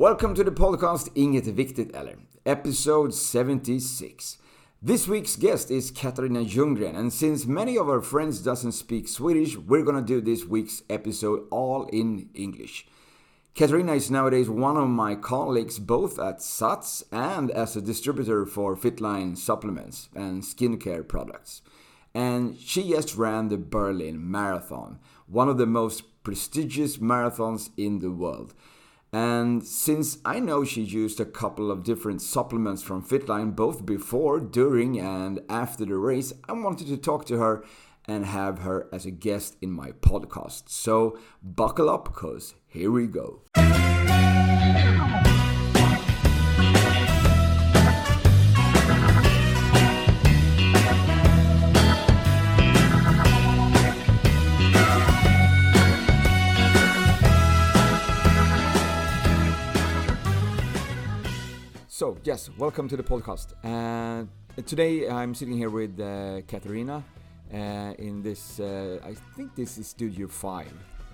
Welcome to the podcast Inget är viktigt eller, episode 76. This week's guest is Katarina Ljunggren, and since many of our friends doesn't speak Swedish, we're gonna do this week's episode all in English. Katarina is nowadays one of my colleagues both at SATS and as a distributor for Fitline supplements and skincare products. And she just ran the Berlin Marathon, one of the most prestigious marathons in the world. And since I know she used a couple of different supplements from Fitline both before, during and after the race, I wanted to talk to her and have her as a guest in my podcast. So buckle up, cause here we go. So, yes, welcome to the podcast. Today I'm sitting here with Katarina in this, I think this is Studio 5.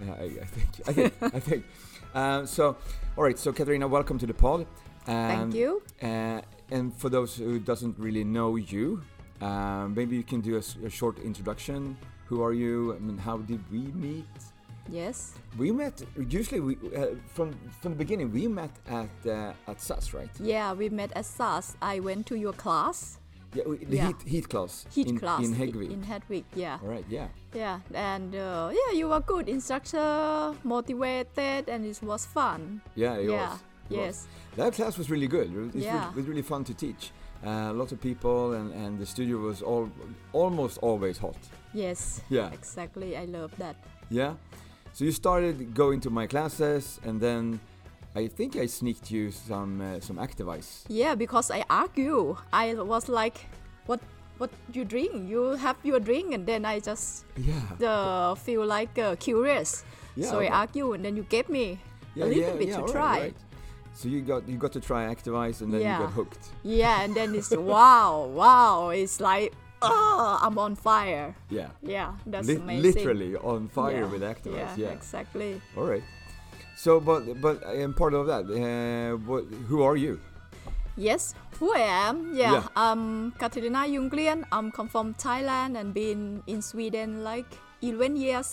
I think. So, all right, so Katarina, welcome to the pod. Thank you. And for those who doesn't really know you, maybe you can do a short introduction. Who are you? I mean, how did we meet? Yes. We met usually from the beginning. We met at SAS, right? Yeah, we met at SAS. I went to your class. Yeah, the Heat class. Heat class in Häggvik. In Häggvik, yeah. All right, yeah. Yeah, and you were good instructor, motivated, and it was fun. Yeah, it was. Yes. That class was really good. It was really fun to teach. Lots of people, and the studio was almost always hot. Yes. Yeah. Exactly. I love that. Yeah. So you started going to my classes, and then I think I sneaked you some Activise. Yeah, because I argue. I was like, "What you drink? You have your drink," and then I just feel like curious. Yeah, so I argue, and then you gave me a little bit to try. Right. So you got to try Activise, and then you got hooked. Yeah, and then it's wow! It's like, oh, I'm on fire. Yeah. Yeah, that's amazing. Literally on fire with Activise. Yeah, exactly. All right. So, but part of that, who are you? Yes, who I am? Yeah. I'm Katarina Ljunggren. I'm come from Thailand and been in Sweden like 11 years.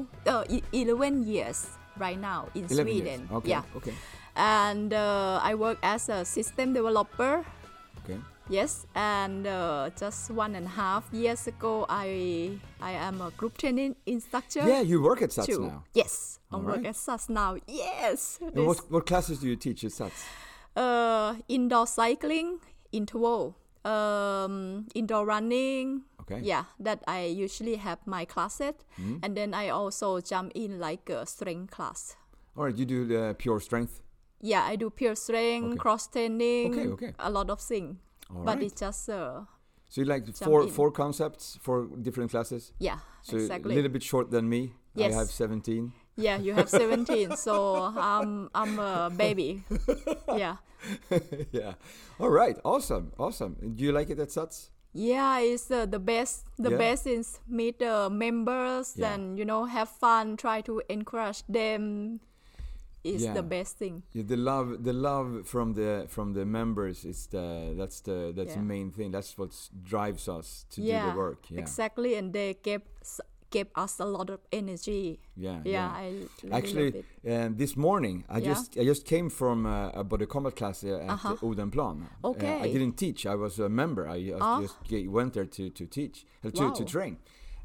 11 years right now in 11 Sweden. Years. Okay. Yeah. Okay. And I work as a system developer. Okay. Yes, and just 1.5 years ago, I am a group training instructor. Yeah, you work at SATS too. now. Yes, I All work right. at SATS now. Yes. And what classes do you teach at SATS? Indoor cycling, interval, indoor running. Okay. Yeah, that I usually have my classes, and then I also jump in like a strength class. All right, you do the pure strength. Yeah, I do pure strength, cross training, Okay. a lot of things. But it's just so you like jump four concepts for different classes? Yeah, so exactly. A little bit short than me. Yes. I have 17. Yeah, you have 17, so I'm a baby. Yeah. Yeah. All right. Awesome. Do you like it at SATS? Yeah, it's the best. The best is meet the members and have fun. Try to encourage them. Is the best thing. Yeah, the love from the members is that's the main thing. That's what drives us to do the work. Yeah, exactly. And they gave us a lot of energy. Yeah. I really actually love it. This morning I just came from a body combat class at Odenplan. Okay. I didn't teach. I was a member. I just went there to teach to train.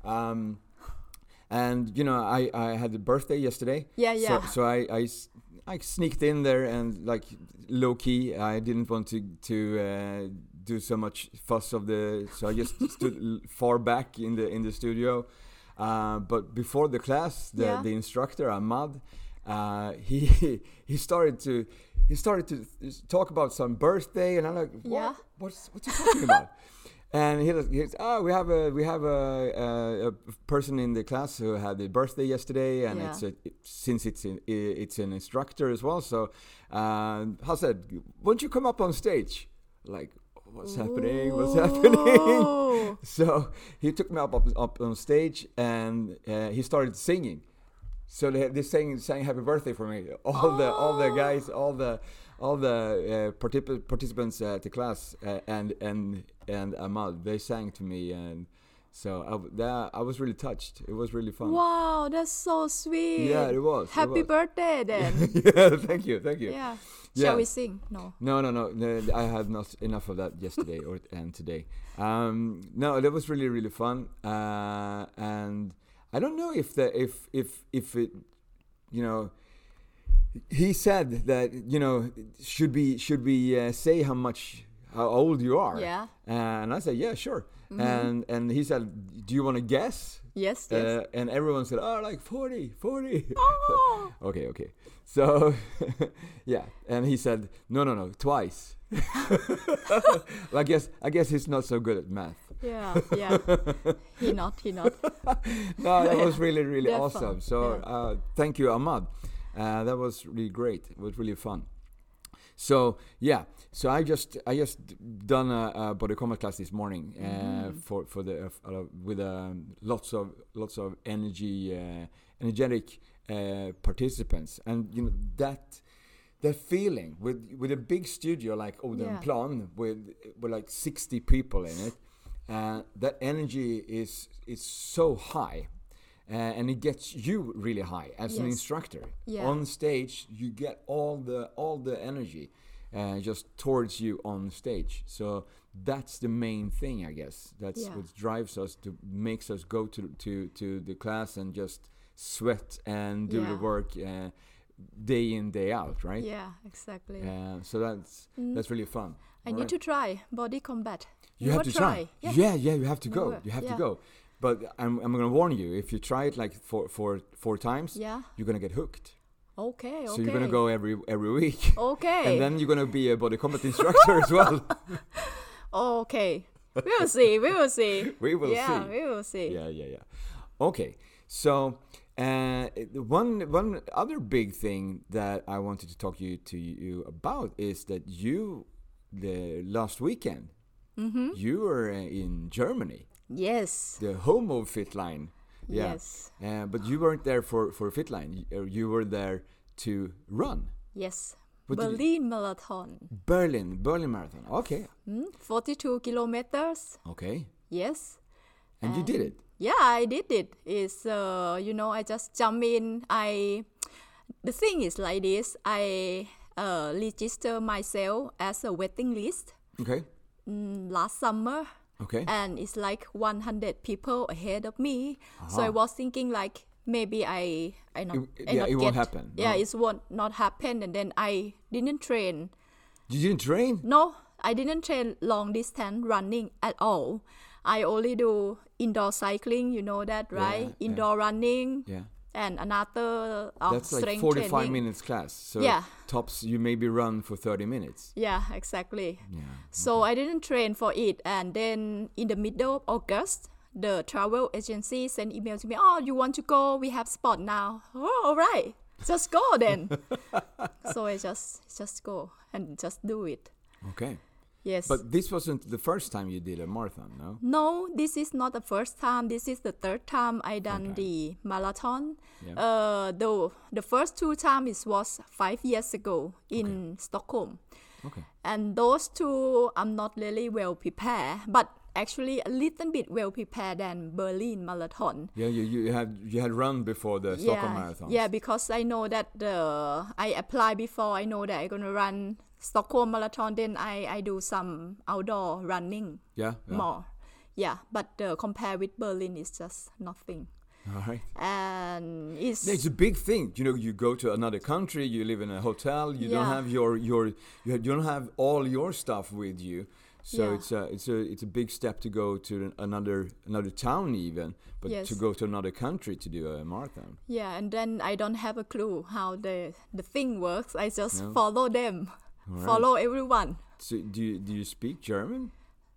And I had a birthday yesterday. Yeah. So I sneaked in there and like low key. I didn't want to do so much fuss of so I just stood far back in the studio. But before the class, the instructor Ahmad, he started to talk about some birthday, and I'm like, what's he talking about? And he's we have a person in the class who had a birthday yesterday, and it's an instructor as well. So I said, won't you come up on stage? Like, what's happening? So he took me up on stage, and he started singing. So they sang happy birthday for me. All the guys, all the participants at the class and Ahmad, they sang to me, and so I was really touched. It was really fun. Wow, that's so sweet. Yeah, it was. Happy birthday then. Yeah, thank you. Yeah. Yeah. Shall we sing? No. No. I had not enough of that yesterday and today. No, that was really, really fun. And I don't know if it, you know, he said that, you know, should we say how old you are? Yeah. And I said, yeah, sure. And he said, do you want to guess? Yes. And everyone said, oh, like 40. Oh. Okay. So, yeah. And he said, no, twice. Well, I guess he's not so good at math. Yeah. He not. No, that was really, really That's awesome. fun. So, thank you, Ahmad. That was really great. It was really fun. So yeah, so I just done a body combat class this morning for the with lots of energetic participants, and you know that feeling with a big studio like Odenplan with like 60 people in it, that energy is so high. And it gets you really high as an instructor. Yeah. On stage, you get all the energy just towards you on stage. So that's the main thing, I guess. That's what drives us, makes us go to the class and just sweat and do the work day in, day out, right? Yeah, exactly. So that's really fun. I need to try body combat. You have to try. Yeah, you have to go. You have to go. But I'm going to warn you, if you try it like four times, you're going to get hooked. Okay. So you're going to go every week. Okay. And then you're going to be a body combat instructor as well. Okay. We will see. We will see. We will see. Yeah. Okay. So one other big thing that I wanted to talk to you about is that the last weekend, you were in Germany. Yes. The home of Fitline. Yeah. Yes. But you weren't there for Fitline. You were there to run. Yes. What Berlin Marathon. Berlin Marathon. Okay. 42 kilometers. Okay. Yes. And you did it. Yeah, I did it. It's I just jump in. The thing is like this. I register myself as a waiting list. Okay. Last summer. Okay. And it's like 100 people ahead of me. So I was thinking like maybe it won't happen. Yeah, it won't not happen. And then I didn't train. You didn't train? No, I didn't train long distance running at all. I only do indoor cycling, you know that, right? Indoor running. Yeah. And another that's like 45 training. minutes class. So tops you maybe run for 30 minutes. Yeah, exactly. Yeah. So I didn't train for it. And then in the middle of August, the travel agency sent email to me. Oh, you want to go? We have spot now. Oh, all right. Just go then. So I just go and just do it. Okay. Yes. But this wasn't the first time you did a marathon, no? No, this is not the first time. This is the third time I done the marathon. Yeah. The first two times was 5 years ago in Stockholm. Okay. And those two, I'm not really well prepared, but actually a little bit well prepared than Berlin Marathon. Yeah, you had run before the Stockholm Marathon. Yeah, because I know that I applied before. I know that I'm gonna run Stockholm Marathon. Then I do some outdoor running. Yeah. More. Yeah, but compared with Berlin, it's just nothing. All right. And it's a big thing. You know, you go to another country, you live in a hotel, you don't have you don't have all your stuff with you. So it's a big step to go to another town even, but to go to another country to do a marathon. Yeah, and then I don't have a clue how the thing works. I just follow them, follow everyone. So do you speak German?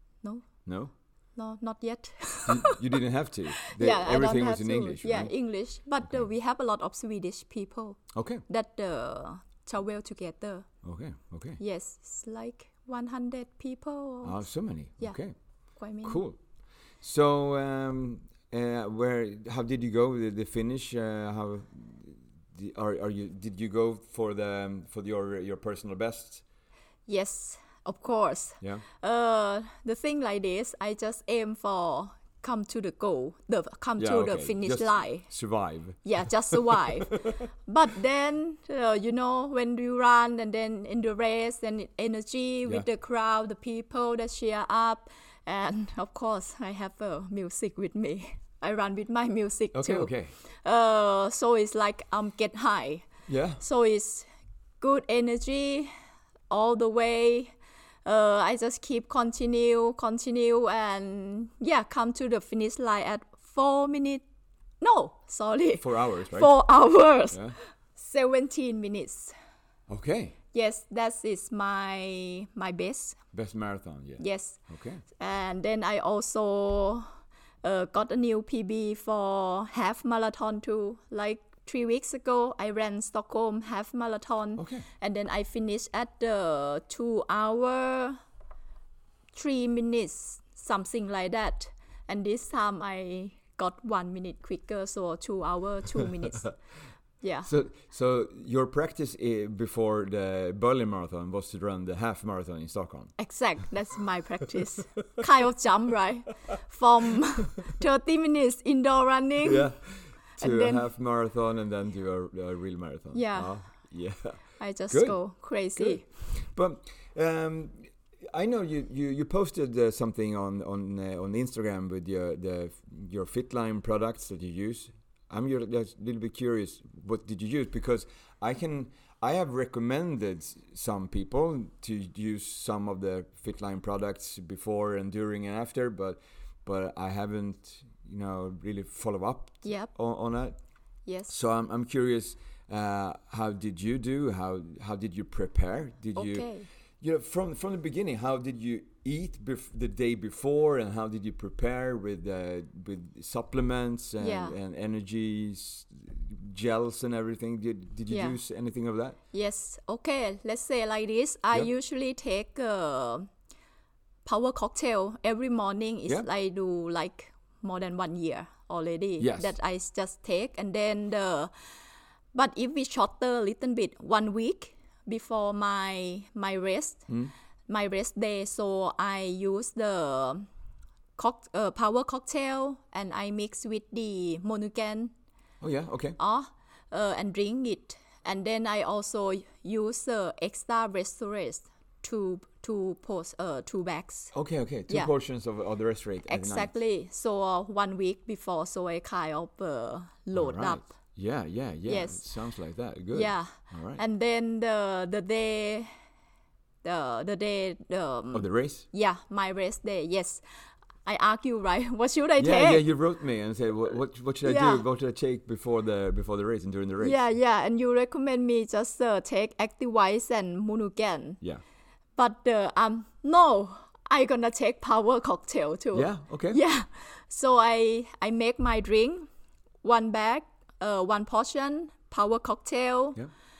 No, not yet. you didn't have to. Everything was in English. Yeah, right? English. But we have a lot of Swedish people. Okay. That travel together. Okay. Yes, it's like 100 people. Oh, so many. Yeah, okay. Quite many. Cool. So, how did you go? The finish? Did you go for your personal best? Yes, of course. Yeah. The thing like this, I just aim for come to the goal, the finish just line. Survive. Yeah, just survive. But then, when you run and then in the race and energy with the crowd, the people that cheer up, and of course, I have music with me. I run with my music too. Okay. So it's like get high. Yeah. So it's good energy all the way. I just keep continue, and come to the finish line at 4 minutes. No, sorry. 4 hours, right? 4 hours. Yeah. 17 minutes. Okay. Yes, that is my best. Best marathon, yeah. Yes. Okay. And then I also got a new PB for half marathon too. Like 3 weeks ago, I ran Stockholm half marathon. Okay. And then I finished at the 2 hour, 3 minutes, something like that. And this time I got 1 minute quicker, so 2 hour, 2 minutes. Yeah. So your practice before the Berlin Marathon was to run the half marathon in Stockholm? Exact. That's my practice. Kind of jump, right? From 30 minutes indoor running. Yeah. To and then, a half marathon and then to a real marathon. Yeah. Yeah. I just Good. go crazy. Good. But I know you posted something on Instagram with your Fitline products that you use. I'm just a little bit curious. What did you use? Because I have recommended some people to use some of the Fitline products before and during and after, but I haven't really follow up on that. Yes. So I'm curious. How did you do? How did you prepare? From the beginning, how did you eat the day before, and how did you prepare with supplements and energy gels and everything? Did you use anything of that? Yes. Okay. Let's say like this. I usually take power cocktail every morning. I do like more than 1 year already. Yes. That I just take, and then but if we shorter a little bit, 1 week before my rest, my rest day, so I use the power cocktail and I mix with the Monogel. Oh yeah, okay. And drink it, and then I also use extra restorate two bags. Okay. Two portions of the restorate. Exactly. Nice. So 1 week before, so I kind of load up. Yeah. Yes. It sounds like that. Good. Yeah. All right. And then the day of the race? Yeah, my race day. Yes. I asked you, right? What should I take? Yeah, you wrote me and said what should I do? What should I take before the race and during the race? Yeah, and you recommend me just take Activise and Monogel. Yeah. But no, I gonna take power cocktail too. Yeah, okay. Yeah. So I make my drink, 1 bag, 1 portion, power cocktail,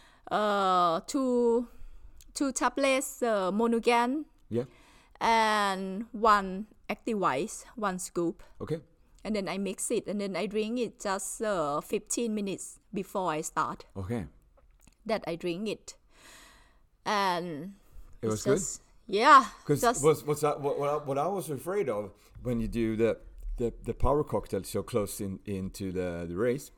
two tablets, Monogel, and 1 Activise, 1 scoop. Okay. And then I mix it, and then I drink it just 15 minutes before I start. Okay. That I drink it. And it was good? Yeah. Because what I was afraid of when you do the power cocktail so close into the race,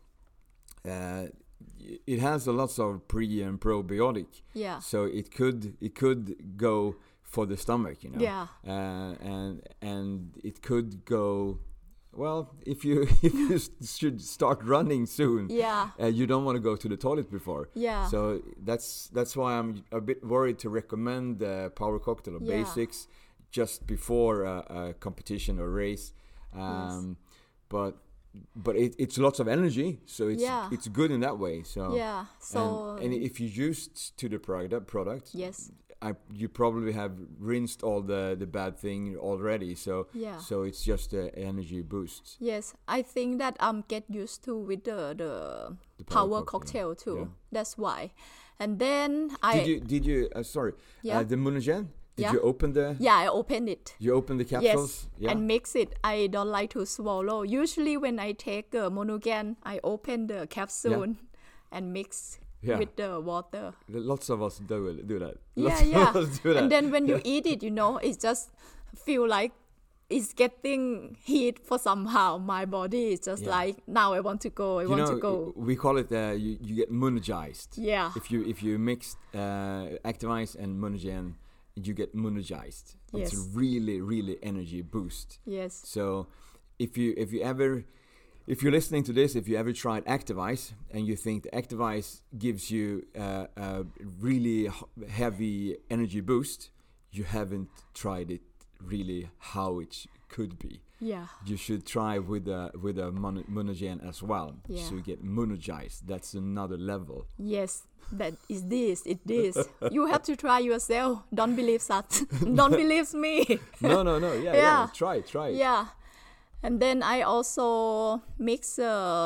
it has a lot of pre and probiotic. Yeah. So it could go for the stomach, Yeah. And it could go. Well, if you should start running soon, you don't want to go to the toilet before. Yeah. So that's why I'm a bit worried to recommend the power cocktail or basics just before a competition or race. But it's lots of energy, so it's good in that way. So and if you used to the product, yes. You probably have rinsed all the bad thing already, so it's just the energy boost. Yes, I think that get used to with the power cocktail too. Yeah. That's why. And then did you the Monogel? Did you open the? Yeah, I opened it. You opened the capsules? Yes, and mix it. I don't like to swallow. Usually when I take Monogel, I open the capsule and mix Yeah. with the water. Lots of us do that. Yeah, Lots yeah. of us do that. And then when you eat it, it just feel like it's getting heat for somehow. My body is just like, now I want to go. I want to go. We call it you get monergized. Yeah. If you mix Active Ice and Monogen, you get monergized. Yes. It's a really, really energy boost. Yes. So if you're listening to this, if you ever tried Active Ice and you think the Active Ice gives you a really heavy energy boost, you haven't tried it really how it could be. Yeah. You should try with a Monogen as well, Yeah. so you get monergized. That's another level. Yes. That is this. It is. You have to try yourself. Don't believe that. Don't believe me. No. Yeah. Try it. Yeah. And then I also mix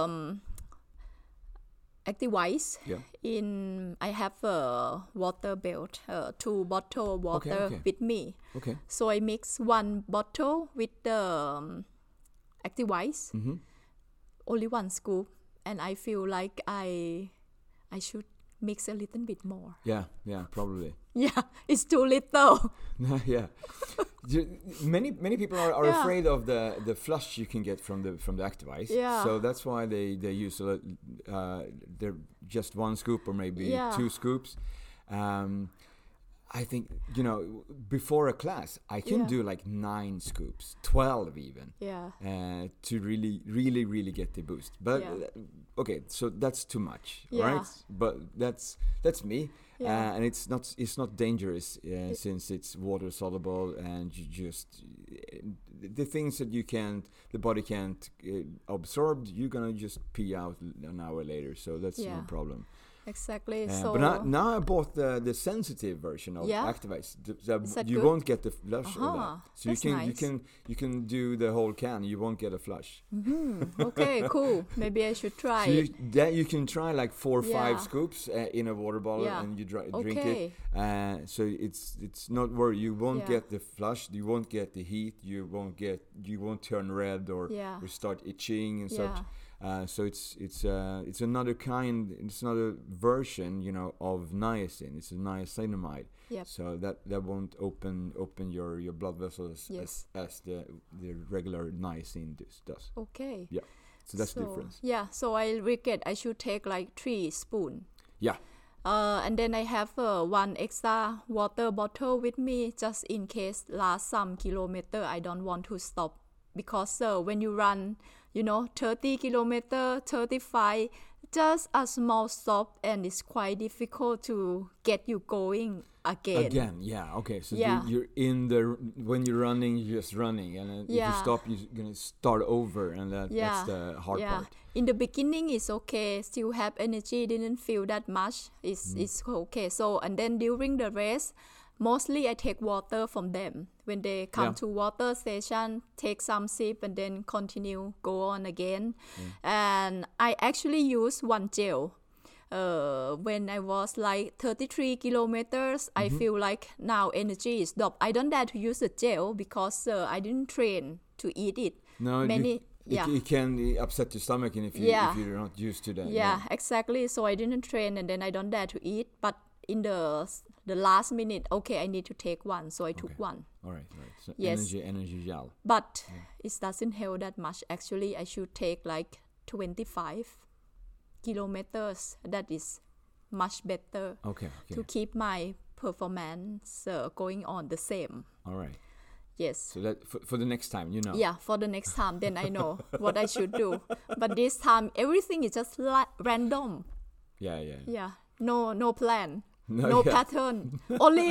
Active Ice in. I have a water belt, 2 bottle water Okay. with me. Okay. So I mix 1 bottle with the Active Ice, only 1 scoop, and I feel like I should mix a little bit more. Yeah, probably. Yeah, it's too little. Yeah. Many people are Yeah. afraid of the flush you can get from the Active Ice. Yeah. So that's why they use they're just 1 scoop or maybe 2 scoops. I think before a class I can do like 9 scoops, 12 even. Yeah. To really get the boost. But okay, so that's too much, right? But that's me. Yeah. And it's not dangerous since it's water soluble, and you just the things that the body can't absorb, you're gonna just pee out an hour later. So that's no problem. Exactly. But now I bought the sensitive version of Active Ice. Is that you good? won't get the flush of that. So that's nice. you can do the whole can. You won't get a flush. Okay, cool. Maybe I should try So it. you can try like 4 or 5 scoops in a water bottle, and you drink it. So it's not worry. You won't get the flush. You won't get the heat. You won't turn red or start itching and such. So it's another kind. It's another version, of niacin. It's a niacinamide. Yep. So that won't open your blood vessels as the regular niacin does. Okay. Yeah. So that's the difference. Yeah. So I regret I should take like 3 spoons. Yeah. And then I have 1 extra water bottle with me just in case last some kilometer I don't want to stop, because when you run 30 kilometer, 35, just a small stop, and it's quite difficult to get you going again. Yeah, okay. So Yeah. you're when you're running, you're just running, and if you stop, you're gonna start over, and that's the hard part. In the beginning, it's okay. Still have energy. Didn't feel that much. It's okay. So and then during the race, mostly I take water from them. When they come to water station, take some sip and then continue, go on again. And I actually use 1 gel. When I was like 33 kilometers, I feel like now energy is dropped. I don't dare to use the gel because I didn't train to eat it. No, it can upset your stomach, and if you're not used to that. Yeah, exactly. So I didn't train, and then I don't dare to eat. But in the last minute, okay, I need to take 1, so I took 1. All right. So Yes. energy gel. But it doesn't help that much. Actually, I should take like 25 kilometers. That is much better Okay. to keep my performance going on the same. All right. Yes. So that for the next time, Yeah, for the next time, then I know what I should do. But this time, everything is just random. Yeah. Yeah, no plan, No, no pattern.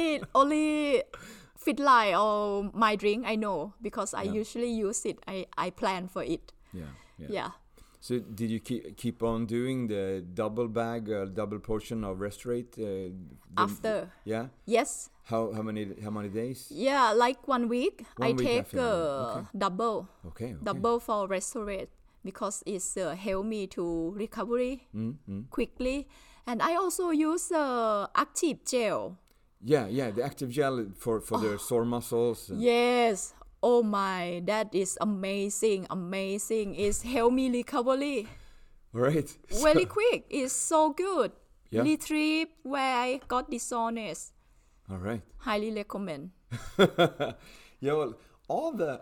only fit line or my drink I know, because I usually use it. I plan for it. Yeah. So did you keep on doing the double bag, double portion of Restorate? After? Yeah. Yes. How many days? Yeah, like 1 week. 1 I week take after. Okay. double. Okay. Double for Restorate, because it's help me to recovery quickly. And I also use active gel. Yeah, the active gel for the sore muscles. Yes. Oh my, that is amazing. It's help me recovery. All right. Very quick. It's so good. Yeah. Retrieve where I got dishonest. All right. Highly recommend. Yeah, well, all the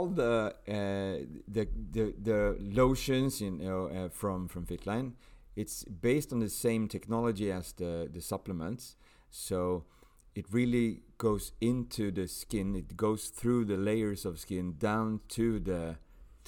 lotions, from Fitline, it's based on the same technology as the supplements. So it really goes into the skin. It goes through the layers of skin down to the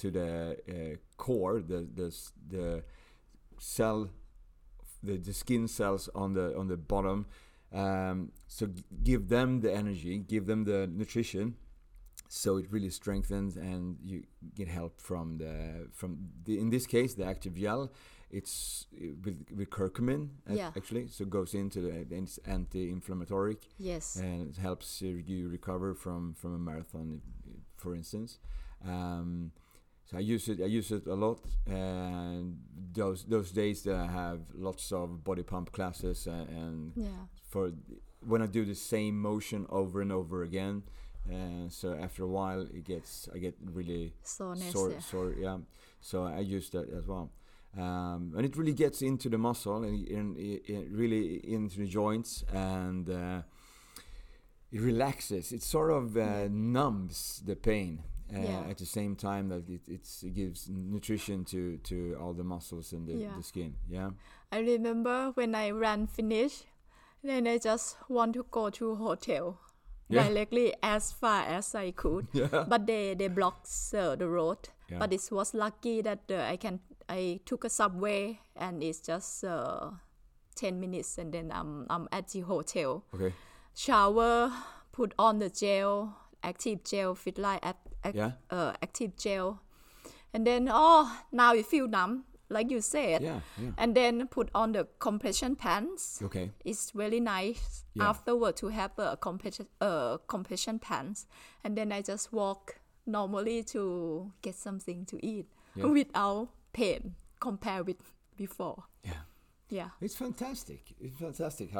core, the cell, the skin cells on the bottom. So give them the energy, give them the nutrition, so it really strengthens, and you get help from the in this case the active gel. It's with curcumin, actually, so it goes into it's anti-inflammatory. Yes. And it helps you recover from a marathon, for instance. So I use it a lot, and those days that I have lots of body pump classes, and for when I do the same motion over and over again, so after a while I get really soreness, sore. Yeah, so I use that as well, and it really gets into the muscle and really into the joints, and it relaxes. It sort of numbs the pain. At the same time that it gives nutrition to all the muscles and the skin. Yeah. I remember when I ran finish, then I just want to go to hotel directly as far as I could. Yeah. But they blocked the road. Yeah. But it was lucky that I took a subway, and it's just 10 minutes, and then I'm at the hotel. Okay. Shower, put on the gel, active gel, Fitline active gel, and then now you feel numb, like you said. Yeah. And then put on the compression pants. Okay. It's really nice afterward to have a compression pants, and then I just walk normally to get something to eat without pain compared with before. Yeah. It's fantastic. It's fantastic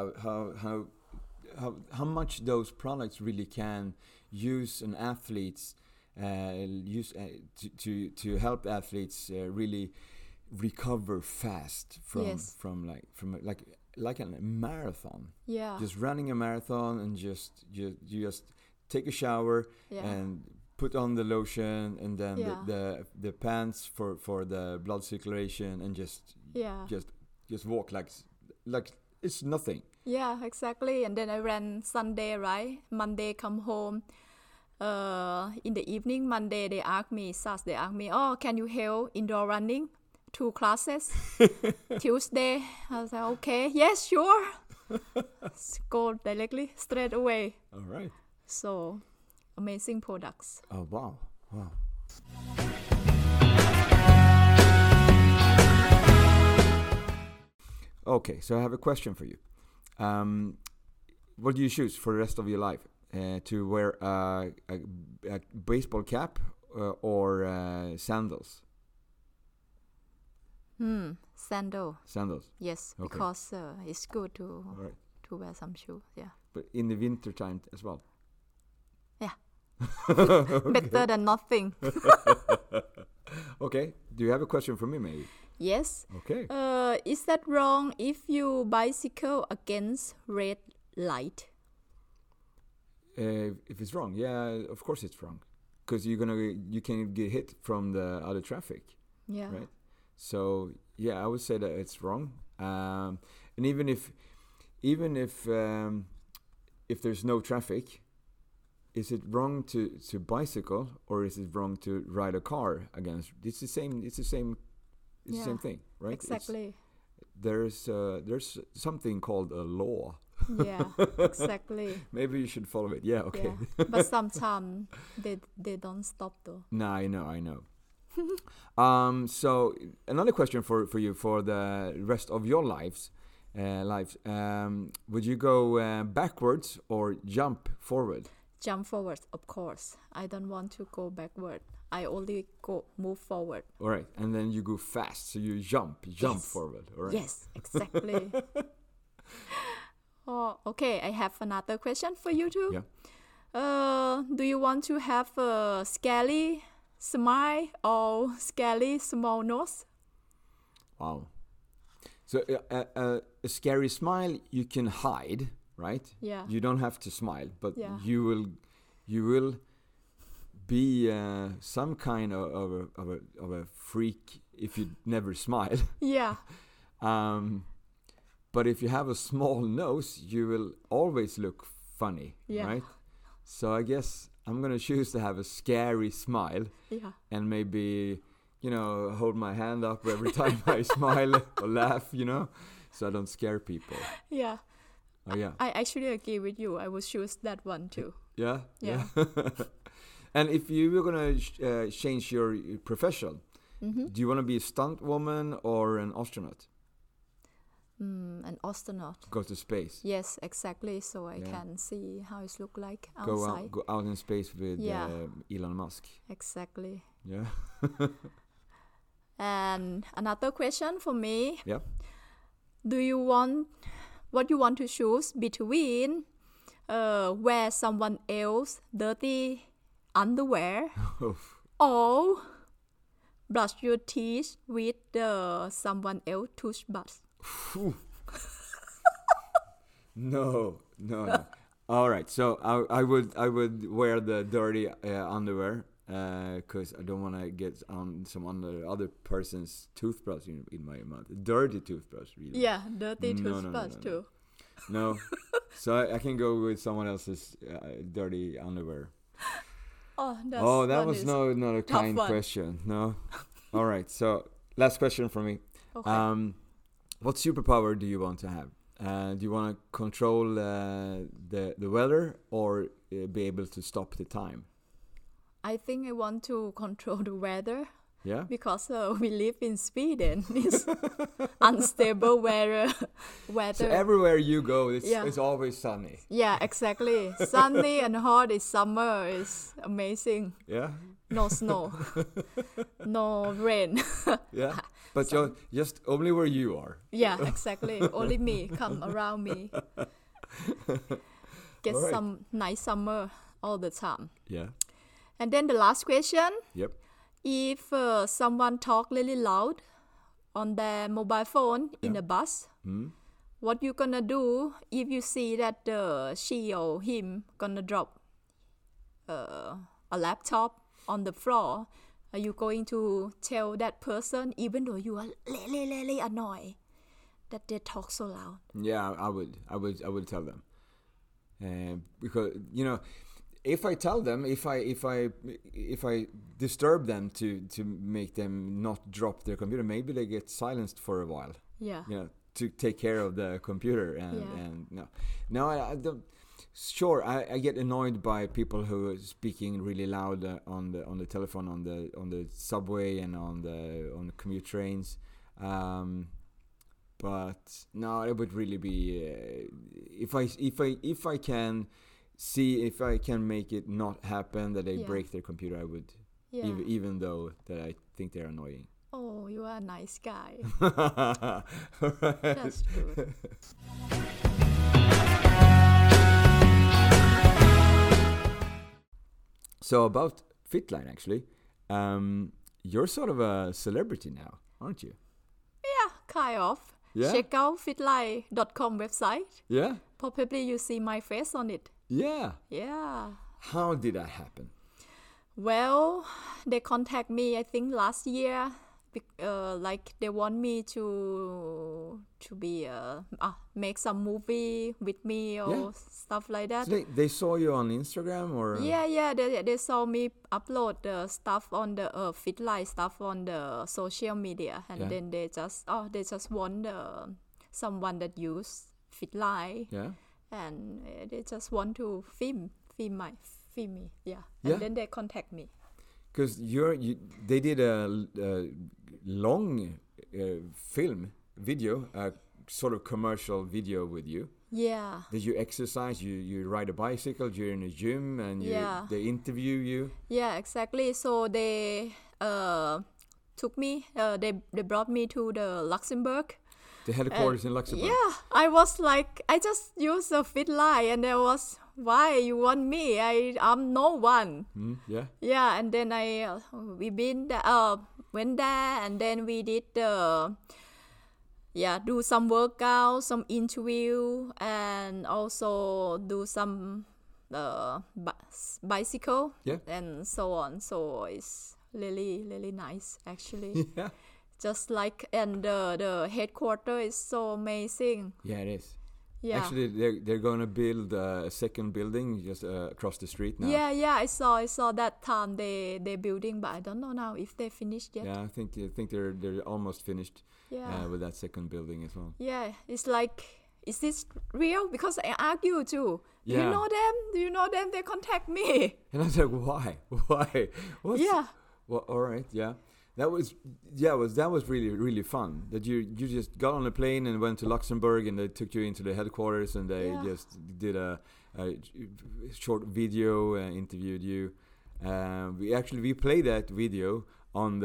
how much those products really can use an athlete's to help athletes really recover fast from like a marathon. Yeah. Just running a marathon, and you just take a shower and put on the lotion, and then the pants for the blood circulation, and just walk like it's nothing. Yeah, exactly. And then I ran Sunday, right? Monday come home. In the evening, Monday they asked me, can you help indoor running? 2 classes. Tuesday, I was like, okay, yes, sure. Go directly, straight away. All right. So, amazing products. Oh, wow. Okay, so I have a question for you. What do you choose for the rest of your life? To wear a baseball cap or sandals? Sandals. Yes, okay. Because it's good to wear some shoes. Yeah. But in the winter time as well. Yeah. Better than nothing. Okay. Do you have a question for me, maybe? Yes. Okay. Is that wrong if you bicycle against red light? If it's wrong, of course it's wrong, because you can get hit from the other traffic. Yeah. Right. So I would say that it's wrong. And even if there's no traffic, is it wrong to bicycle, or is it wrong to ride a car against? It's the same thing, right? Exactly. There's something called a law. Yeah, exactly. Maybe you should follow it. Yeah, okay. Yeah. But sometimes they don't stop though. No, I know. So another question for you for the rest of your lives. Would you go backwards or jump forward? Jump forward, of course. I don't want to go backward. I only move forward. All right, and then you go fast, so you jump forward. All right. Yes, exactly. Oh, okay. I have another question for you too. Yeah. Do you want to have a scary smile or scary small nose? Wow. So a scary smile you can hide, right? Yeah. You don't have to smile, but Yeah. you will be some kind of a freak if you never smile. Yeah. But if you have a small nose, you will always look funny, Yeah. right? So I guess I'm gonna choose to have a scary smile Yeah. and maybe, hold my hand up every time I smile or laugh, so I don't scare people. Yeah. Oh yeah. I actually agree with you. I would choose that one too. Yeah. Yeah. And if you were gonna change your profession, do you want to be a stunt woman or an astronaut? An astronaut. Go to space. Yes, exactly. So I Yeah. can see how it look like outside. Go out in space with Yeah. Elon Musk. Exactly. Yeah. And another question for me: Yeah. What you want to choose between wear someone else dirty underwear or brush your teeth with someone else toothbrush? No. All right. So I would wear the dirty underwear because I don't want to get on some other person's toothbrush in my mouth. Dirty toothbrush, really. Yeah, dirty No, toothbrush too. No. So I can go with someone else's dirty underwear. That was not a kind one. question. No. All right. So last question from me. Okay. What superpower do you want to have? Do you want to control the weather or be able to stop the time? I think I want to control the weather Yeah. because we live in Sweden. It's unstable weather. So everywhere you go, it's Yeah. it's always sunny. Yeah, exactly. Sunny and hot is summer. It's amazing. Yeah. No snow. No rain. Yeah. But you're just only where you are. Yeah, exactly. Only me come around me. Get All right. some nice summer all the time. Yeah. And then the last question: Yep. if someone talk really loud on their mobile phone in a bus, what you gonna do if you see that she or him gonna drop a laptop on the floor? Are you going to tell that person, even though you are really annoyed that they talk so loud? Yeah, I would tell them, because if I tell them, if I disturb them to make them not drop their computer, maybe they get silenced for a while. Yeah. To take care of the computer and no, I don't. Sure, I get annoyed by people who are speaking really loud on the telephone on the subway and on the commute trains. But no, it would really be if I can see if I can make it not happen that they break their computer, I would, even though that I think they're annoying. Oh, you are a nice guy. Right. That's good. So about Fitline, actually, you're sort of a celebrity now, aren't you? Yeah, kind of. Yeah? Check out fitline.com website. Yeah? Probably you see my face on it. Yeah. Yeah. How did that happen? Well, they contact me, I think, last year. Like they want me to be make some movie with me or stuff like that. So they saw you on Instagram or? Yeah. They saw me upload the stuff on the Fitline stuff on the social media, and then they just want someone that use Fitline. Yeah. And they just want to film me. Yeah. And then they contact me. Because they did a long video, a sort of commercial video with you. Yeah. Did you exercise? You ride a bicycle? You're in a gym and they interview you? Yeah, exactly. So they took me. They brought me to the Luxembourg. The headquarters in Luxembourg. Yeah, I was like, I just used a Fitline, and there was, why you want me? I'm no one. Yeah. Yeah, and then we went there, and then we did the do some workout, some interview, and also do some bicycle and so on. So it's really, really nice actually. Yeah. Just like, and the headquarters is so amazing. Yeah, it is. Yeah. Actually, they're going to build a second building just across the street now. Yeah. I saw that time they building, but I don't know now if they finished yet. Yeah, I think they're almost finished. Yeah. With that second building as well. Yeah, it's like, is this real? Because I argue too. Do you know them? Do you know them? They contact me. And I was like, why? Yeah. Well, all right, yeah. That was really, really fun. That you just got on a plane and went to Luxembourg, and they took you into the headquarters, and they just did a short video, interviewed you. We played that video on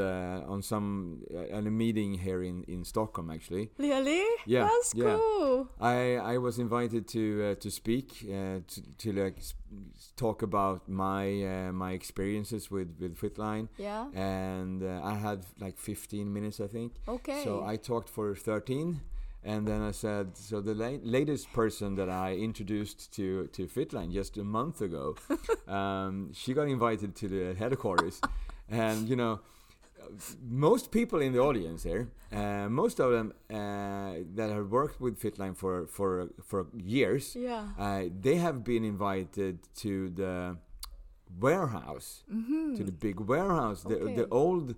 a meeting here in Stockholm actually. Really? Yeah, that's cool. I was invited to speak to like talk about my experiences with Fitline. Yeah. And I had like 15 minutes, I think. Okay. So I talked for 13. And then I said, so the latest person that I introduced to Fitline just a month ago, she got invited to the headquarters. And, you know, most people in the audience here, most of them that have worked with Fitline for years, they have been invited to the warehouse, to the big warehouse, the old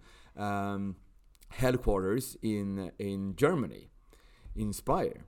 headquarters in Germany. Inspire.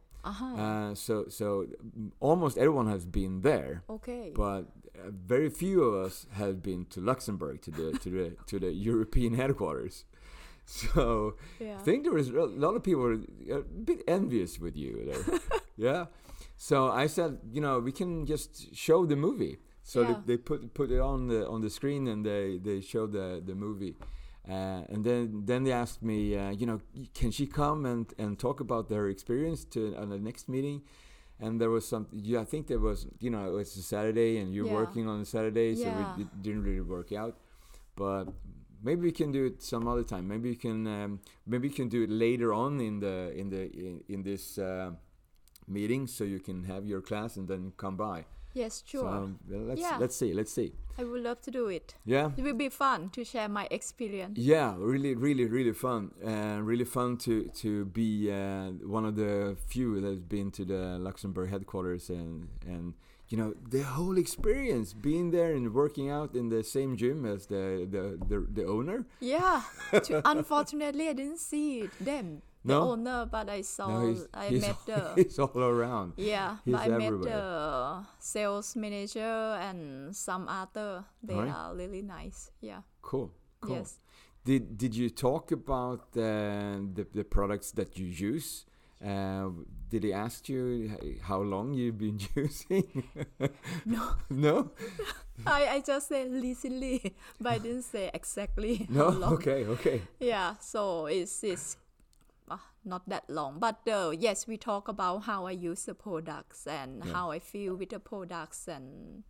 So almost everyone has been there. Okay. But very few of us have been to Luxembourg to the European headquarters. So I think there was a lot of people a bit envious with you there. Yeah. So I said, you know, we can just show the movie. So they put it on the screen, and they showed the movie. And then they asked me, you know, can she come and talk about her experience on the next meeting? And there was I think there was, you know, it was a Saturday, and you're working on a Saturday, so it didn't really work out. But maybe we can do it some other time. Maybe you can do it later on in this meeting, so you can have your class and then come by. Yes, sure. So let's see. I would love to do it. Yeah. It will be fun to share my experience. Yeah, really, really, really fun. Really fun to be one of the few that's been to the Luxembourg headquarters, and you know, the whole experience, being there and working out in the same gym as the owner. Yeah. Unfortunately, I didn't see them. The owner, but I saw. He's all around. Yeah, he's but I everywhere. met the sales manager and some other. They are really nice. Yeah. Cool. Yes. Did you talk about the products that you use? Did he ask you how long you've been using? No. No? I just said recently, but I didn't say exactly No? how long. Okay. Yeah, so it's not that long. But yes, we talk about how I use the products and how I feel with the products, and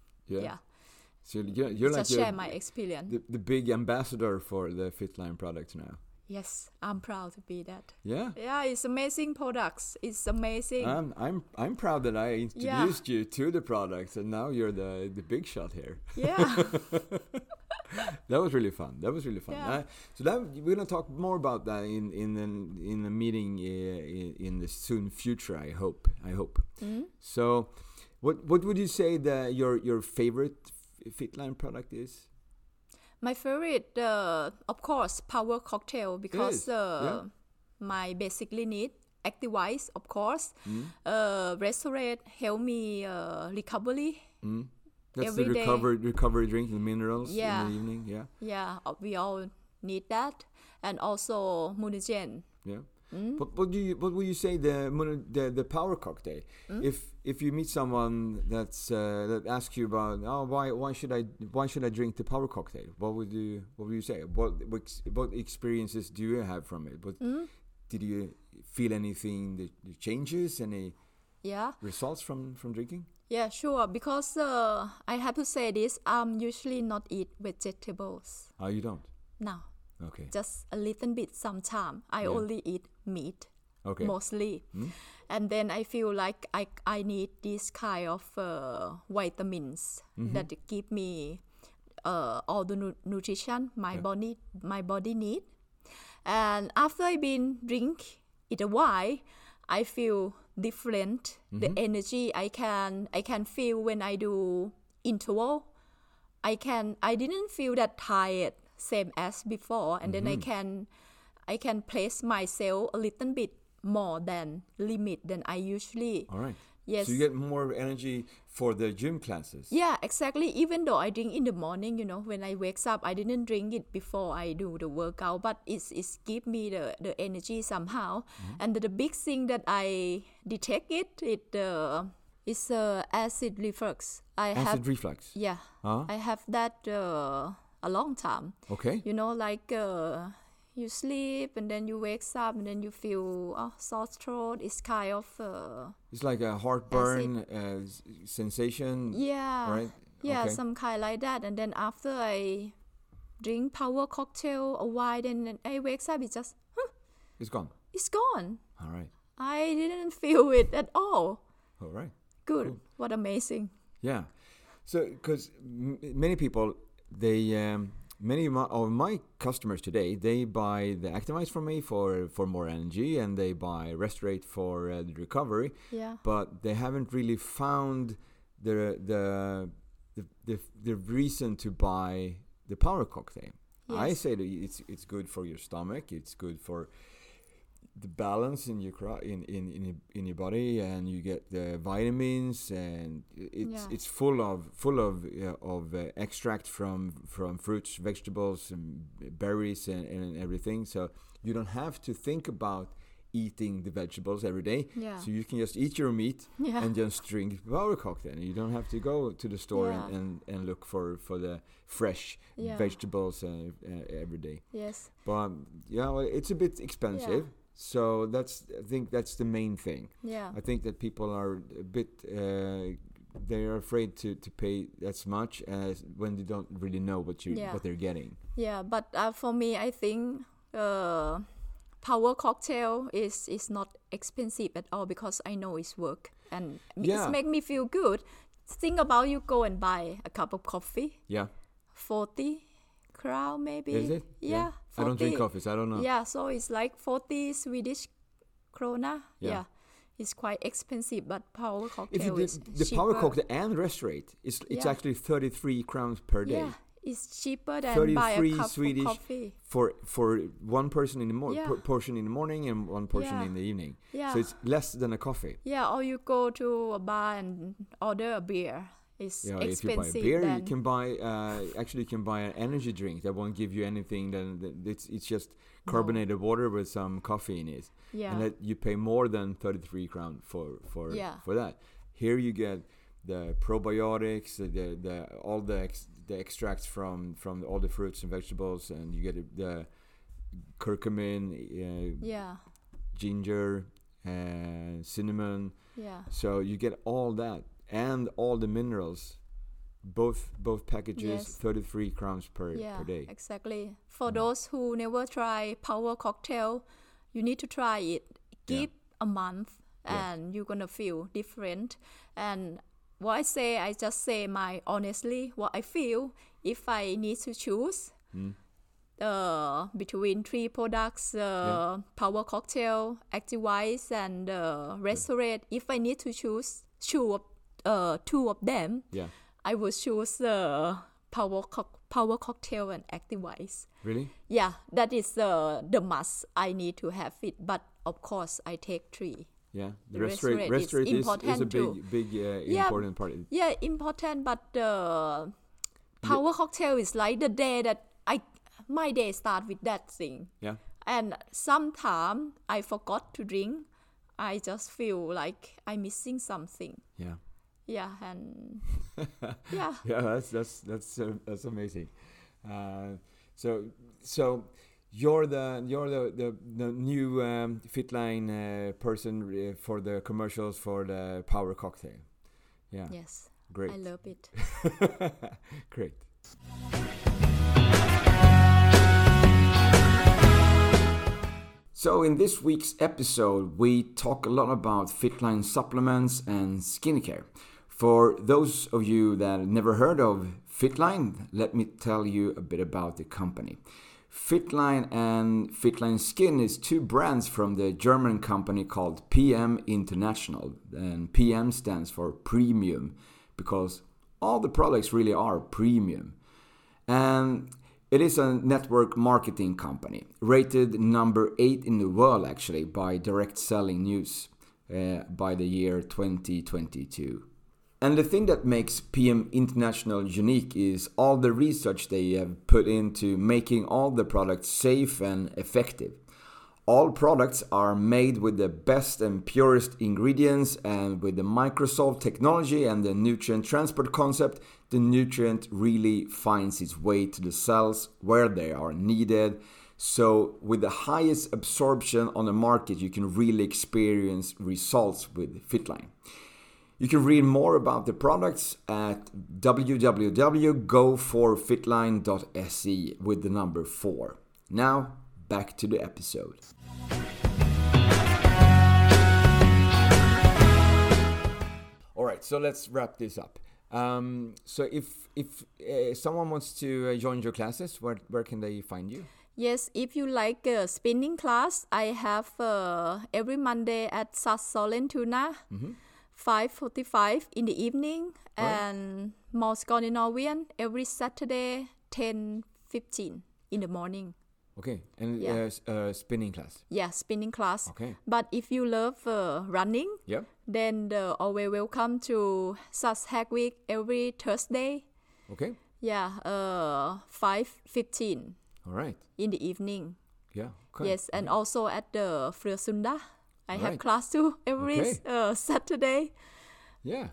So you're like share my experience. The big ambassador for the Fitline products now. Yes, I'm proud to be that. Yeah. Yeah, it's amazing products. It's amazing. I'm proud that I introduced you to the products, and now you're the big shot here. Yeah. That was really fun. Yeah. So we're gonna talk more about that in the meeting in the soon future. I hope. Mm-hmm. So, what would you say that your favorite Fitline product is? My favorite, of course, Power Cocktail, because my basically need Activise, of course. Restaurant help me recovery. That's every the recovery drink, the minerals in the evening. Yeah. Yeah, we all need that, and also Munigen. Yeah. What would you say the Power Cocktail? If you meet someone that asks you about why should I drink the Power Cocktail? What would you say? What experiences do you have from it? Did you feel anything that changes? Any results from drinking? Yeah, sure. Because I have to say this, I'm usually not eat vegetables. Oh, you don't? No. Okay. Just a little bit sometime. I only eat meat Okay. mostly. And then I feel like I need this kind of vitamins that give me all the nutrition my body need. And after I've been drink it a while, I feel different. The energy I can feel when I do interval. I didn't feel that tired same as before, and then I can place myself a little bit more than limit than I usually. All right. Yes. So you get more energy for the gym classes. Yeah, exactly. Even though I drink in the morning, when I wake up, I didn't drink it before I do the workout, but it's give me the energy somehow. And the big thing that I detect is acid reflux. Acid reflux. Yeah, Huh? I have that a long time. Okay. Like you sleep and then you wake up and then you feel sore throat. It's kind of It's like a heartburn sensation. yeah, Right? yeah, Okay. some kind like that. And then after I drink power cocktail a while, then I wake up. It's just It's gone. it's gone. All right. I didn't feel it at all. All right. Good. Cool. What amazing. Yeah. So, because many people, many of my customers today, they buy the Actimize from me for more energy, and they buy Restorate for the recovery. Yeah. But they haven't really found the reason to buy the Power Cocktail. I Yes. say that it's good for your stomach. It's good for the balance in your in your body, and you get the vitamins, and it's full of extract from fruits, vegetables, and berries, and everything. So you don't have to think about eating the vegetables every day. Yeah. So you can just eat your meat Yeah. and just drink Power Cocktail. You don't have to go to the store Yeah. and look for the fresh Yeah. vegetables every day. Yes. But well, it's a bit expensive. Yeah. So I think that's the main thing. Yeah. I think that people are a bit they are afraid to pay as much as when they don't really know what they're getting. Yeah, but for me, I think Power Cocktail is not expensive at all because I know it's work and Yeah. it's make me feel good. Think about you go and buy a cup of coffee, Yeah. 40 crown maybe. Is it? Yeah. I don't drink 40. coffee, so I don't know. Yeah, so it's like 40 Swedish krona. Yeah. It's quite expensive, but Power If Cocktail you is did the cheaper. Power Cocktail and Restorate, it's Yeah. actually 33 crowns per day. Yeah, it's cheaper than buy a 33 cup Swedish of coffee. for one person in the Yeah. portion in the morning and one portion Yeah. in the evening. Yeah. So it's less than a coffee. Yeah, or you go to a bar and order a beer. It's Yeah, if you buy a expensive. beer, then you can buy you can buy an energy drink that won't give you anything. It's just carbonated water with some coffee in it, yeah, and that you pay more than 33 crown for Yeah. that. Here you get the probiotics, all the extracts from all the fruits and vegetables, and you get the curcumin, yeah, ginger, cinnamon. yeah, So you get all that and all the minerals, both packages, Yes. 33 crowns per day. exactly. For those who never try Power Cocktail, you need to try it. Give a month, Yeah. and you're gonna feel different. And what I just say honestly what I feel. If I need to choose between 3 products, Power Cocktail, Activise, and Restorate, if I need to choose two of them, Yeah. I would choose Power Cocktail and Activise. Really? Yeah, that is the must. I need to have it, but of course I take 3. Yeah. The The Restorate Restorate is is a important too. big Yeah. important part. Yeah, important, but Power Cocktail is like the day that my day start with that thing. Yeah. And sometimes I forgot to drink. I just feel like I'm missing something. Yeah. Yeah, and yeah. Yeah, that's amazing. So you're the new Fitline person for the commercials for the Power Cocktail. Yeah. Yes. Great. I love it. Great. So in this week's episode, we talk a lot about Fitline supplements and skincare. For those of you that never heard of Fitline, let me tell you a bit about the company. Fitline and Fitline Skin is two brands from the German company called PM International. And PM stands for premium because all the products really are premium. And it is a network marketing company, rated number 8 in the world actually by Direct Selling News by the year 2022. And the thing that makes PM International unique is all the research they have put into making all the products safe and effective. All products are made with the best and purest ingredients, and with the Microsolve technology and the nutrient transport concept, the nutrient really finds its way to the cells where they are needed. So with the highest absorption on the market, you can really experience results with Fitline. You can read more about the products at www.goforfitline.se with the number 4. Now, back to the episode. All right, so let's wrap this up. So if someone wants to join your classes, where can they find you? Yes, if you like a spinning class, I have every Monday at SAS Solentuna, 5:45 in the evening, and Mall Skandinavien every Saturday, 10:15 in the morning. Okay, and spinning class. Yeah, spinning class. Okay. But if you love running, then always welcome to SAS Hack Week every Thursday. Okay. Yeah, 5:15. All right. In the evening. Yeah. Okay. Yes, and also at the Frøsunda. I have class too every Saturday. Yeah.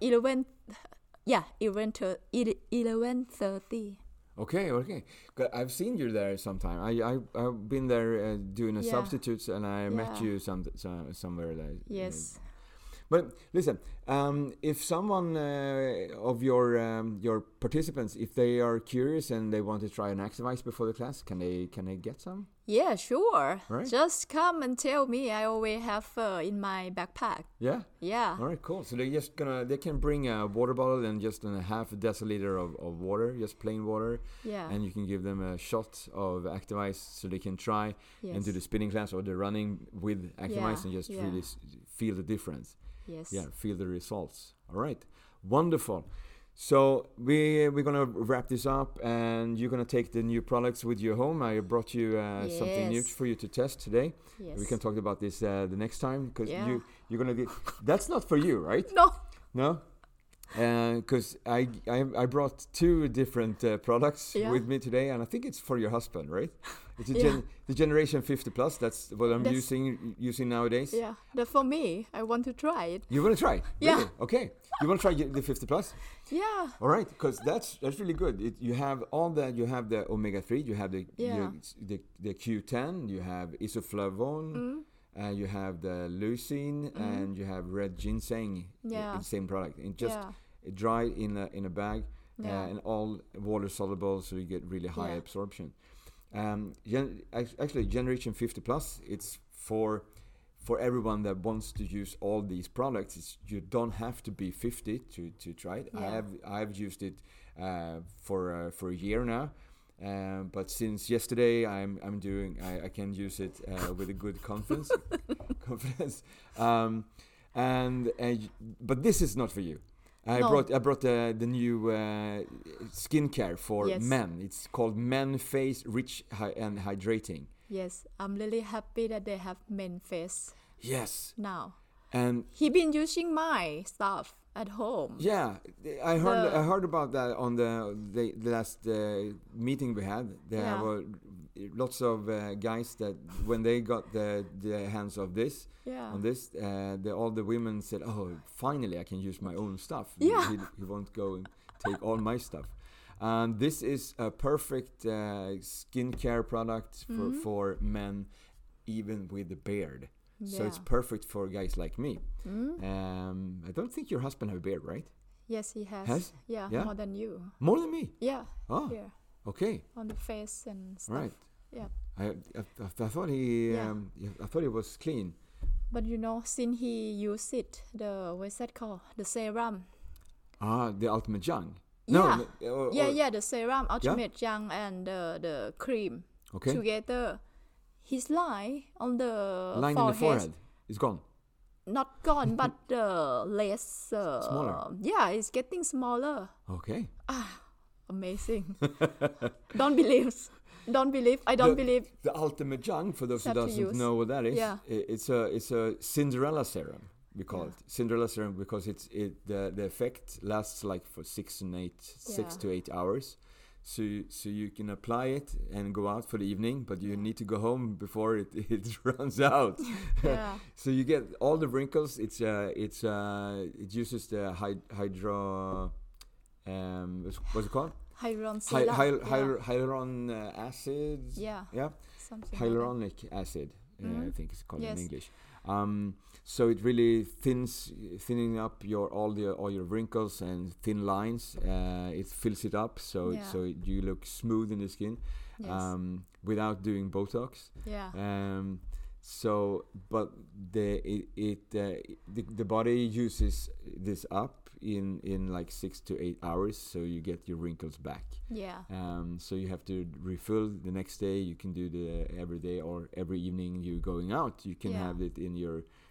11:30. Okay. I've seen you there sometime. I've been there doing a substitutes, and I met you somewhere there. Yes. But listen, if someone of your participants, if they are curious and they want to try an Activise before the class, can they get some? Yeah, sure. Right. Just come and tell me. I always have in my backpack. Yeah. Yeah. All right, cool. So they can bring a water bottle and just a half a deciliter of water, just plain water. Yeah. And you can give them a shot of Activise so they can try and do the spinning class or the running with Activise and just really feel the difference. Yes. Yeah, feel the results. All right, wonderful. So we're gonna wrap this up, and you're gonna take the new products with you home. I brought you something new for you to test today. Yes. We can talk about this the next time because you're gonna get. That's not for you, right? No. Because I brought 2 different products with me today, and I think it's for your husband, right? It's the Generation 50 Plus. That's what I'm using nowadays. Yeah, that's for me. I want to try it. You want to try? Yeah. Really? Okay. You want to try the 50 Plus? Yeah. All right, because that's really good. You have all that. You have the omega-3. You have the Q10. You have isoflavone. You have the leucine, and you have red ginseng. Yeah. The same product. And just dried in a bag, and all water soluble, so you get really high absorption. Actually, Generation 50 Plus, it's for everyone that wants to use all these products. You don't have to be 50 to try it. Yeah. I've used it for a year now. But since yesterday, I can use it with a good confidence. But this is not for you. I brought the new skincare for men. It's called Men Face Rich and Hydrating. Yes, I'm really happy that they have Men Face. Yes. Now. And he been using my stuff at home. Yeah, I heard about that on the last meeting we had. There were lots of guys that when they got the hands of this on this, all the women said, "Oh, finally I can use my own stuff. Yeah. He won't go and take all my stuff." And this is a perfect skincare product for men, even with the beard. Yeah. So it's perfect for guys like me. I don't think your husband has a beard, right? Yes, he has. Has? Yeah, more than you. More than me? Yeah. Oh, here. Okay. On the face and stuff. Right. Yeah. I thought he I thought it was clean. But you know, since he used it, what's that called? The serum. The Ultimate Young. Yeah. No, The serum, Ultimate Young, and the cream together. His line on the line in the forehead is gone. Not gone, but less smaller. Yeah, it's getting smaller. Okay. Amazing. Don't believe. I don't believe. The Ultimate Young, for those who doesn't know what that is, it's a Cinderella serum. We call it Cinderella serum because the effect lasts like for 6 to 8 hours. So you can apply it and go out for the evening, but you need to go home before it runs out. Yeah. So you get all the wrinkles. It uses the hydro what's it called? Hyaluron acid. Yeah. Something hyaluronic acid. I think it's called in English. So it really thinning up all your wrinkles and thin lines. It fills it up so you look smooth in the skin, without doing Botox. Yeah. But the body uses this up in like 6 to 8 hours, so you get your wrinkles back. Yeah. So you have to refill the next day. You can do every day or every evening you're going out. You can have it in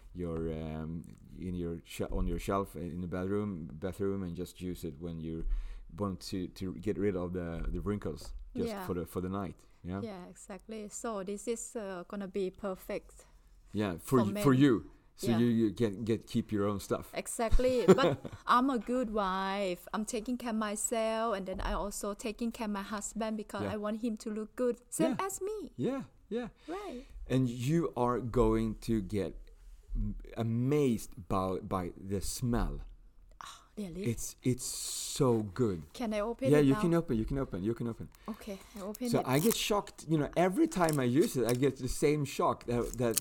on your shelf in the bathroom, and just use it when you want to get rid of the wrinkles for the night. Yeah, exactly. So this is gonna be perfect. Yeah, for you. So you keep your own stuff. Exactly. But I'm a good wife. I'm taking care of myself, and then I also taking care of my husband because I want him to look good, same as me. Yeah. Right. And you are going to get amazed by the smell. Really? It's so good. Can I open it? Yeah, you now? can open. Okay, I open it. So I get shocked. Every time I use it, I get the same shock that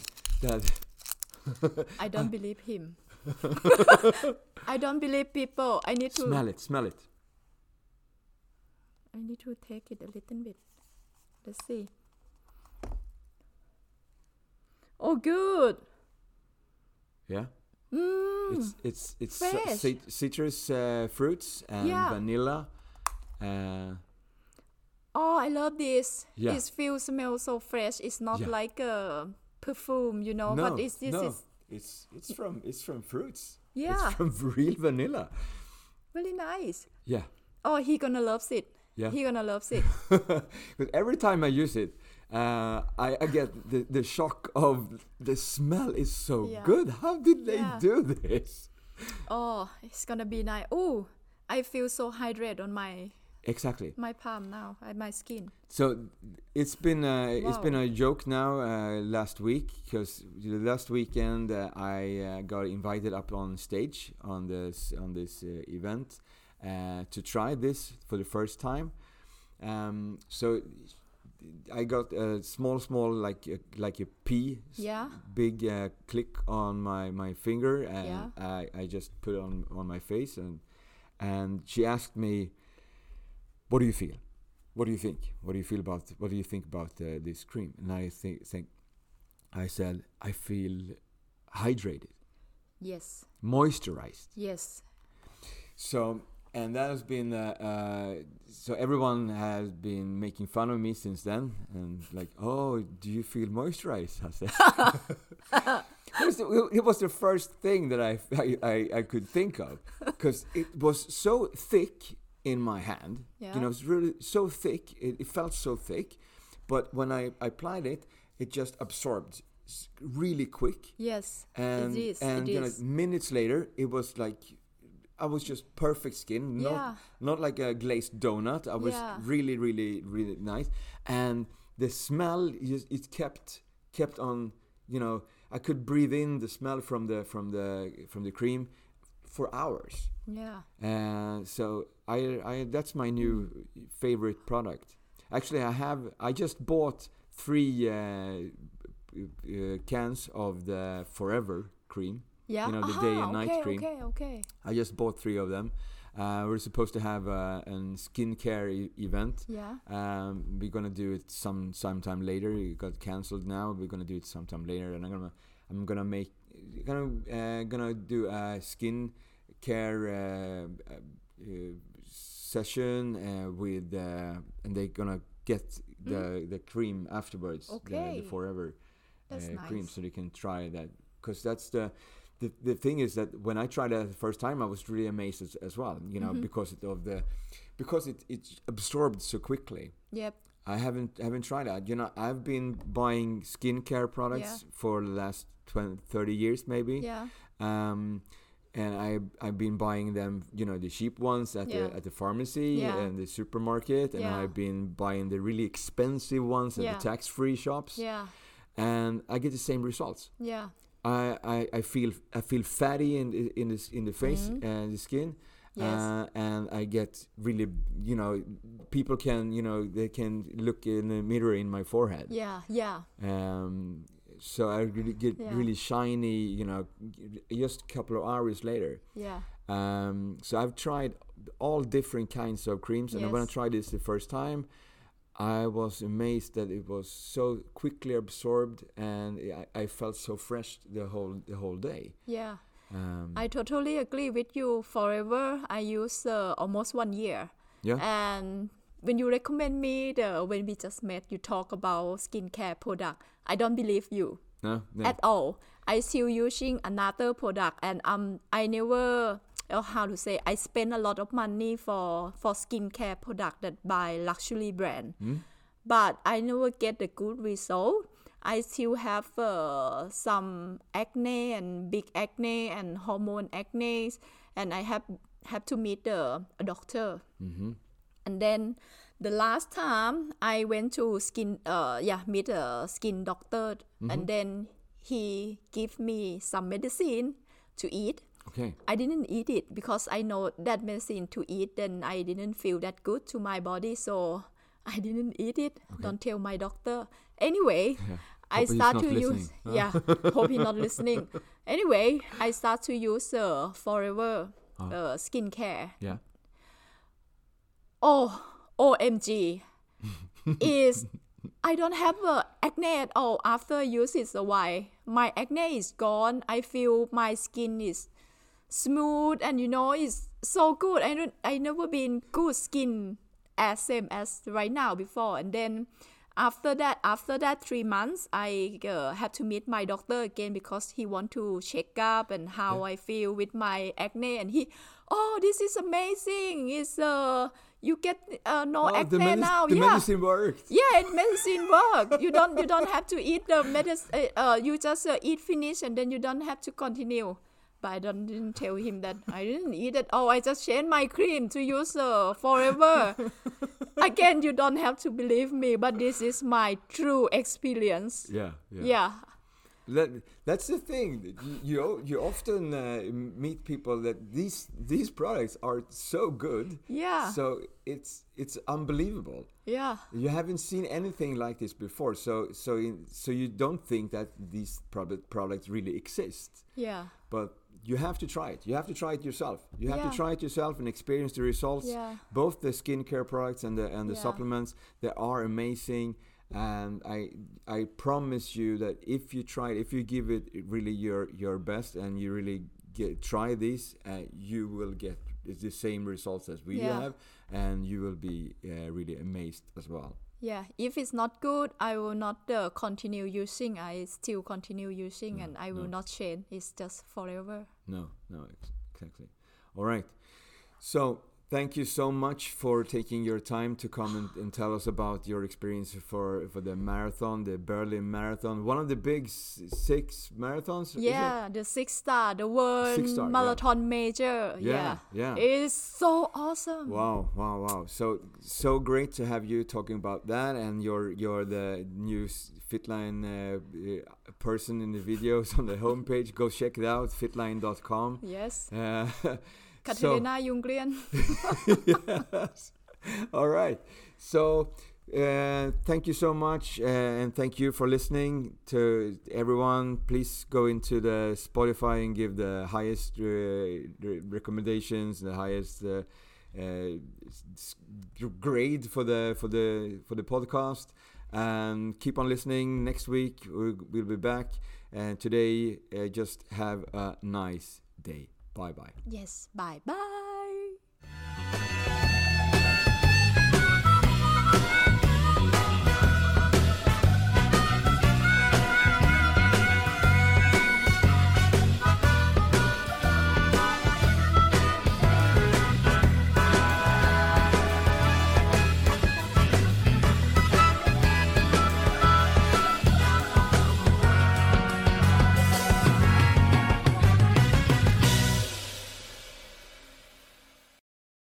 I don't believe him. I don't believe people. I need to smell it. I need to take it a little bit. Let's see. Oh, good. Yeah. It's fresh. Citrus fruits and vanilla. Oh, I love this. Yeah. This smells so fresh. It's not like a perfume, No, but it's from fruits. Yeah. It's from real vanilla. Really nice. Yeah. Oh, he gonna love it. Yeah. He gonna love it. Because every time I use it, I get the shock of the smell is so good. How did they do this? Oh, it's gonna be nice. Oh, I feel so hydrated on my palm now, my skin. So it's been a joke now last week, because last weekend I got invited up on stage on this event to try this for the first time. So I got a small like a pea, big click on my finger, and I just put it on my face, and she asked me, "What do you feel? What do you think? What do you feel about? What do you think about this cream?" And I said, "I feel hydrated." Yes. Moisturized. Yes. So. And that has been so everyone has been making fun of me since then, and like, "Oh, do you feel moisturized?" I said. It was the first thing that I could think of, because it was so thick in my hand. Yeah. It was really so thick. It felt so thick, but when I applied it, it just absorbed really quick. Yes. And it is. Minutes later, it was like, I was just perfect skin, not like a glazed donut. I was really, really, really nice, and the smell it kept on. I could breathe in the smell from the cream for hours. Yeah. So I that's my new favorite product. Actually, I just bought 3 cans of the Forever cream. Yeah. The day and night cream. Okay. I just bought 3 of them, We're supposed to have a skincare event. Yeah. We're gonna do it sometime later. It got cancelled now. We're gonna do it sometime later, and I'm gonna do a skin care session with and they're gonna get the cream afterwards. Okay. The Forever cream, nice. so they can try that, because that's the thing is that when I tried it the first time, I was really amazed as well, because it absorbed so quickly. Yep. I haven't tried that. I've been buying skincare products for the last 30 years maybe. Yeah. And I've been buying them, the cheap ones at the pharmacy and the supermarket, and I've been buying the really expensive ones at the tax-free shops. Yeah. And I get the same results. Yeah. I feel fatty in the face and the skin. Yes. And I get really, people can, they can look in the mirror in my forehead. Yeah. Yeah. So I really get really shiny, just a couple of hours later. Yeah. So I've tried all different kinds of creams, and when I tried this the first time, I was amazed that it was so quickly absorbed, and I felt so fresh the whole day. Yeah. I totally agree with you. Forever, I use almost 1 year. Yeah. And when you recommend me, when we just met, you talk about skincare product, I don't believe you at all. I still using another product, and I never, I spend a lot of money for skincare product that buy luxury brand, but I never get the good result. I still have some acne and big acne and hormone acne, and I have to meet a doctor. Mm-hmm. And then the last time I went to meet a skin doctor, and then he gave me some medicine to eat. Okay. I didn't eat it because I know that medicine to eat, then I didn't feel that good to my body, so I didn't eat it. Okay. Don't tell my doctor. Anyway, I start to use. Hope he's not listening. Anyway, I start to use Forever skincare. Yeah. Oh, OMG! I don't have acne at all after I use it a while. My acne is gone. I feel my skin is smooth, and it's so good. I never been good skin same as right now before. And then after that 3 months, I have to meet my doctor again because he want to check up and how I feel with my acne. And this is amazing. It's you get no acne now. The medicine worked. Yeah, medicine work. You don't have to eat the medicine. You just eat finish, and then you don't have to continue. But I didn't tell him that I didn't eat it. Oh, I just changed my cream to use Forever. Again, you don't have to believe me, but this is my true experience. Yeah. That's the thing. You often meet people that these products are so good. Yeah. So it's unbelievable. Yeah. You haven't seen anything like this before. So you don't think that these products really exist. Yeah. But you have to try it. You have to try it yourself. You have to try it yourself and experience the results. Yeah. Both the skincare products and the supplements, they are amazing. And I promise you that if you try it, if you give it really your best, and you really try this, you will get the same results as we have, and you will be really amazed as well. Yeah, if it's not good, I will not continue using. I still continue using, and I will not change. It's just forever. No, exactly. All right. So thank you so much for taking your time to come and tell us about your experience for the marathon, the Berlin Marathon, one of the big 6 marathons. Yeah, the 6-star, the world marathon major. Yeah. It's so awesome. Wow. So great to have you talking about that, and you're the new Fitline person in the videos on the homepage. Go check it out, fitline.com. Yes. Katarina Ljunggren. Yes. All right. So Thank you so much, and thank you for listening to everyone. Please go into the Spotify and give the highest recommendations, the highest grade for the podcast, and keep on listening. Next week we'll be back, and today just have a nice day. Bye bye. Yes, bye bye.